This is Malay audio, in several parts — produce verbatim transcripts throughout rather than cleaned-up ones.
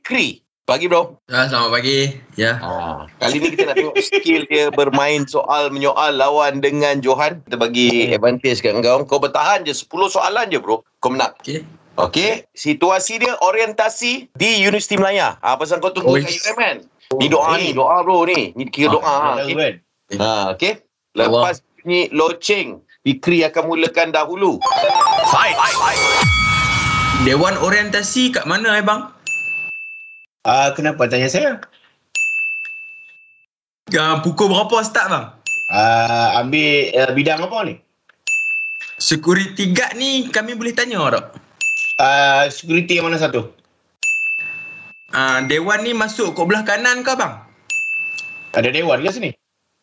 Fikri. Pagi bro. Ya, selamat pagi. Ya. Ha, kali ni kita nak tengok skill dia bermain soal menyoal lawan dengan Johan. Kita bagi advantage kat kau. Kau bertahan je sepuluh soalan je bro. Kau menang. Okey. Okey. Situasi dia orientasi di Universiti Melaya. Ah ha, pasal kau tunggu Oh, kat U M kan. Ni doa ni, doa bro ni. Ni kira doa. Ha, okey. Ha, okey. Lepas bunyi loceng, Fikri akan mulakan dahulu. Fight. Dewan orientasi kat mana eh bang? Ah, uh, kenapa tanya saya? Uh, pukul berapa start bang? Ah, uh, ambil uh, bidang apa ni? Security guard ni kami boleh tanya tak? Ah, uh, security yang mana satu? Uh, dewan ni masuk kat belah kanan ke bang? Ada dewan ke sini?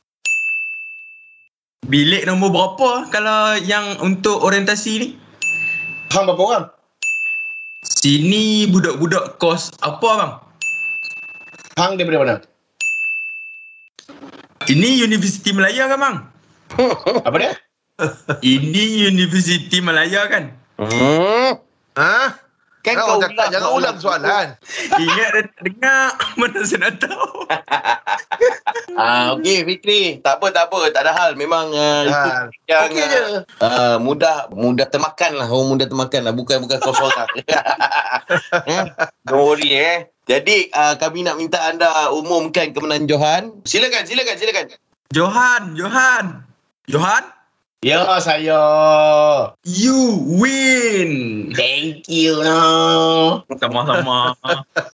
Bilik nombor berapa kalau yang untuk orientasi ni? Hang berapa orang? Sini budak-budak kos apa bang? Hang daripada mana? Ini Universiti Melaya kan bang? Apa dia? Ini Universiti Melaya kan? Hmm. Ha? Kan Kau kau cakap jangan ulang soalan. Ingat dan dengar, mana saya nak tahu. Ah, okey Fikri, tak apa tak apa, tak ada hal. Memang uh, Ha. itu yang Okey je. uh, mudah mudah termakan lah, orang mudah termakan lah, bukan bukan kau seorang. eh? Don't worry eh. Jadi uh, kami nak minta anda umumkan kemenangan Johan. Silakan, silakan, silakan. Johan, Johan. Johan, Ya, saya. you win. Thank you no. Sama-sama.